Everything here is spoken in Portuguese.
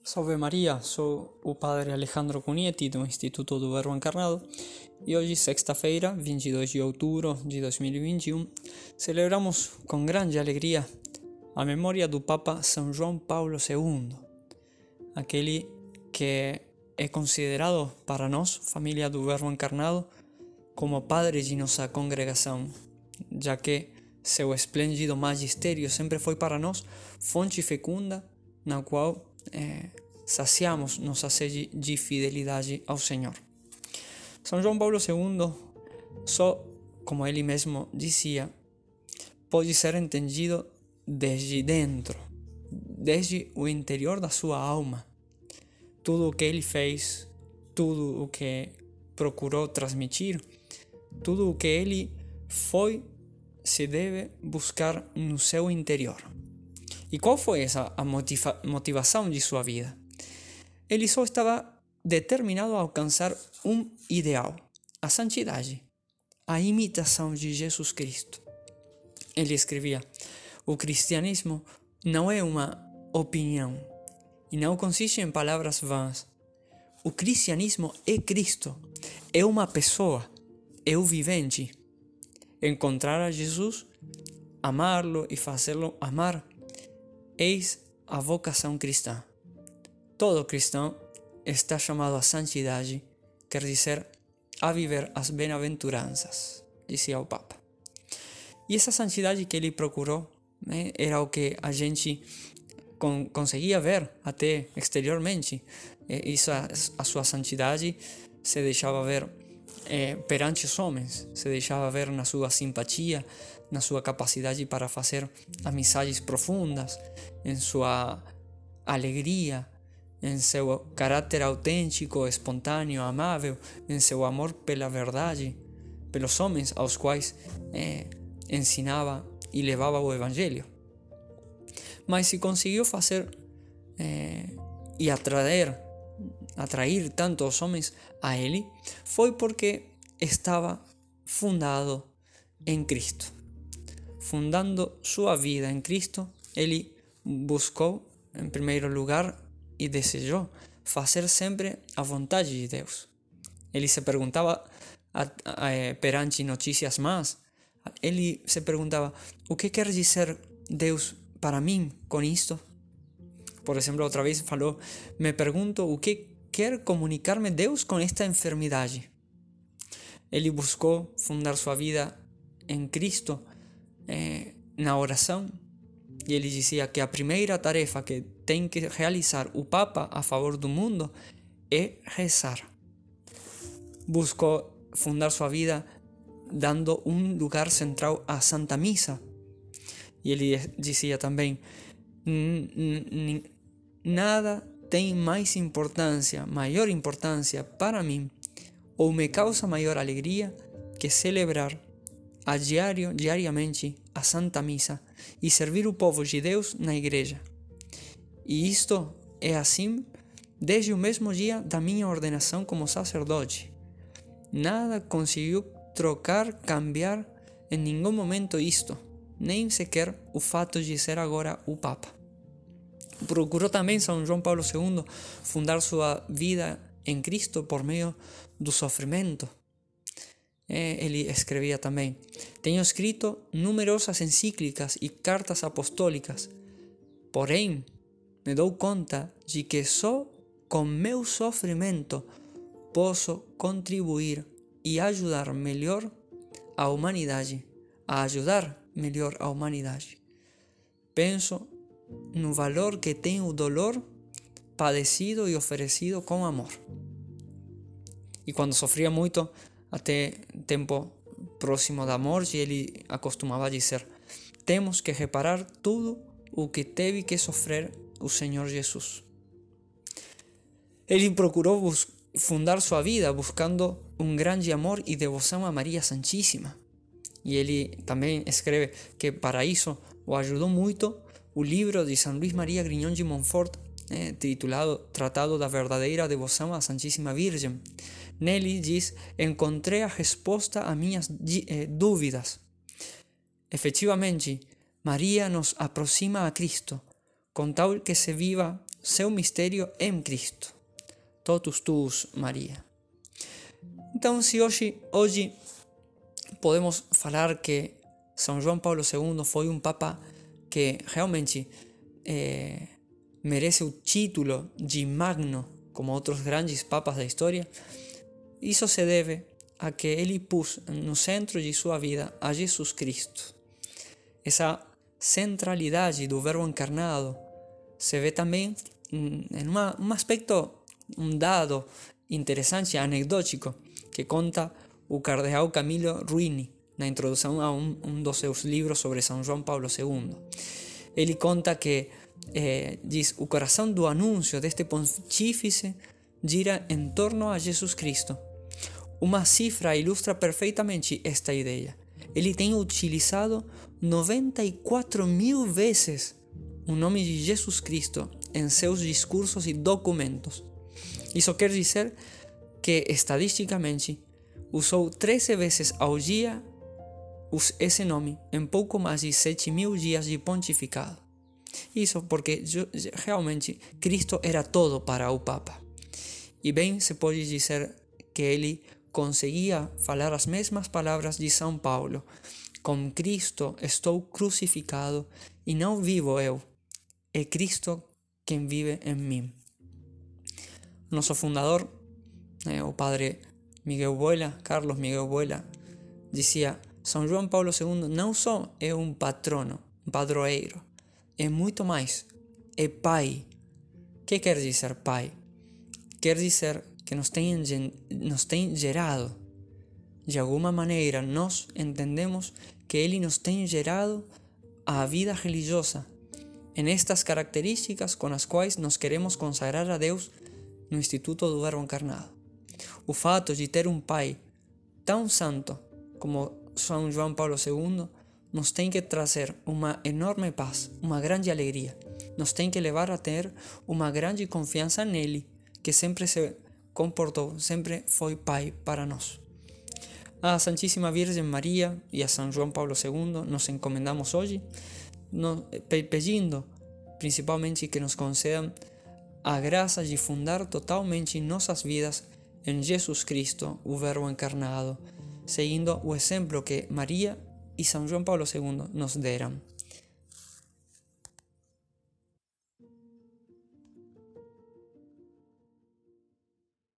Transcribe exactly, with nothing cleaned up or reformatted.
Salve Maria, sou o padre Alejandro Cunieti do Instituto do Verbo Encarnado e hoje, sexta-feira, vinte e dois de outubro de dois mil e vinte e um, celebramos com grande alegria a memória do Papa São João Paulo segundo, aquele que é considerado para nós, família do Verbo Encarnado, como padre de nossa congregação, já que seu esplêndido magistério sempre foi para nós fonte fecunda na qual É, saciamos nossa sede de fidelidade ao Senhor. São João Paulo segundo, só como ele mesmo dizia, pode ser entendido desde dentro, desde o interior da sua alma. Tudo o que ele fez, tudo o que procurou transmitir, tudo o que ele foi, se deve buscar no seu interior. E qual foi essa a motiva- motivação de sua vida? Ele só estava determinado a alcançar um ideal, a santidade, a imitação de Jesus Cristo. Ele escrevia: o cristianismo não é uma opinião e não consiste em palavras vãs. O cristianismo é Cristo, é uma pessoa, é o vivente. Encontrar a Jesus, amá-lo e fazê-lo amar, eis a vocação cristã. Todo cristão está chamado à santidade, quer dizer, a viver as bem-aventuranças, dizia o Papa. E essa santidade que ele procurou, né, era o que a gente con- conseguia ver até exteriormente. E isso, a, a sua santidade se deixava ver eh, perante os homens, se deixava ver na sua simpatia, na sua capacidade para fazer amizades profundas, em sua alegria, em seu caráter autêntico, espontâneo, amável, em seu amor pela verdade, pelos homens aos quais eh, ensinava e levava o Evangelho. Mas se conseguiu fazer eh, e atrair, atrair tanto os homens a ele, foi porque estava fundado em Cristo. Fundando sua vida em Cristo, ele buscou, em primeiro lugar, e desejou fazer sempre a vontade de Deus. Ele se perguntava, a, a, a, perante notícias más, ele se perguntava: o que quer dizer Deus para mim com isto? Por exemplo, outra vez falou: me pergunto o que quer comunicar-me Deus com esta enfermidade. Ele buscou fundar sua vida em Cristo, eh, na oração, e ele dizia que a primeira tarefa que tem que realizar o Papa a favor do mundo é rezar. Buscou fundar sua vida dando um lugar central à Santa Missa. E ele dizia também: nada tem mais importância, maior importância para mim, ou me causa maior alegria, que celebrar a diário, diariamente a Santa Missa e servir o povo de Deus na igreja. E isto é assim desde o mesmo dia da minha ordenação como sacerdote. Nada conseguiu trocar, cambiar em nenhum momento isto, nem sequer o fato de ser agora o Papa. Procurou também São João Paulo segundo fundar sua vida em Cristo por meio do sofrimento. Ele escrevia também: tenho escrito numerosas encíclicas e cartas apostólicas, porém me dou conta de que só com meu sofrimento posso contribuir e ajudar melhor a humanidade, a ajudar melhor a humanidade. Penso no valor que tem o dolor padecido e oferecido com amor. E quando sofria muito, até tempo próximo da morte, ele acostumava dizer: temos que reparar tudo o que teve que sofrer o Senhor Jesus. Ele procurou bus- fundar sua vida buscando um grande amor e devoção a Maria Santíssima. E ele também escreve que para isso o ajudou muito o livro de São Luís Maria Grignon de Montfort, eh, titulado Tratado da Verdadeira Devoção à Santíssima Virgem. Nele diz: encontrei a resposta a minhas eh, dúvidas. Efetivamente, Maria nos aproxima a Cristo, com tal que se viva seu mistério em Cristo. Totus tuus, Maria. Então, se hoje, hoje podemos falar que São João Paulo segundo foi um papa que realmente eh, merece o título de magno, como outros grandes papas da história, isso se deve a que ele pôs no centro de sua vida a Jesus Cristo. Essa centralidade do Verbo encarnado se vê também em uma, um aspecto, um dado interessante, anedótico, que conta o cardeal Camillo Ruini na introdução a um, um dos seus livros sobre São João Paulo segundo. Ele conta que, eh, diz, o coração do anúncio deste pontífice gira em torno a Jesus Cristo. Uma cifra ilustra perfeitamente esta ideia. Ele tem utilizado noventa e quatro mil vezes o nome de Jesus Cristo em seus discursos e documentos. Isso quer dizer que, estadisticamente, usou treze vezes ao dia esse nome em pouco mais de sete mil dias de pontificado. Isso porque realmente Cristo era todo para o Papa. E bem se pode dizer que ele conseguia falar as mesmas palavras de São Paulo. Com Cristo estou crucificado e não vivo eu, é Cristo quem vive em mim. Nosso fundador, eh, o padre Miguel Boela, Carlos Miguel Boela, dizia: São João Paulo segundo não só é um patrono, um padroeiro, é muito mais, é pai. O que quer dizer pai? Quer dizer que nos tem, nos tem gerado. De alguma maneira, nós entendemos que ele nos tem gerado a vida religiosa, em estas características com as quais nos queremos consagrar a Deus no Instituto do Verbo Encarnado. O fato de ter um pai tão santo como São João Paulo segundo nos tem que trazer uma enorme paz, uma grande alegria. Nos tem que levar a ter uma grande confiança nele, que sempre se comportou, sempre foi pai para nós. A Santíssima Virgem Maria e a São João Paulo segundo nos encomendamos hoje, no, pedindo principalmente que nos concedam a graça de fundar totalmente nossas vidas em Jesus Cristo, o Verbo encarnado, seguindo o exemplo que Maria e São João Paulo segundo nos deram.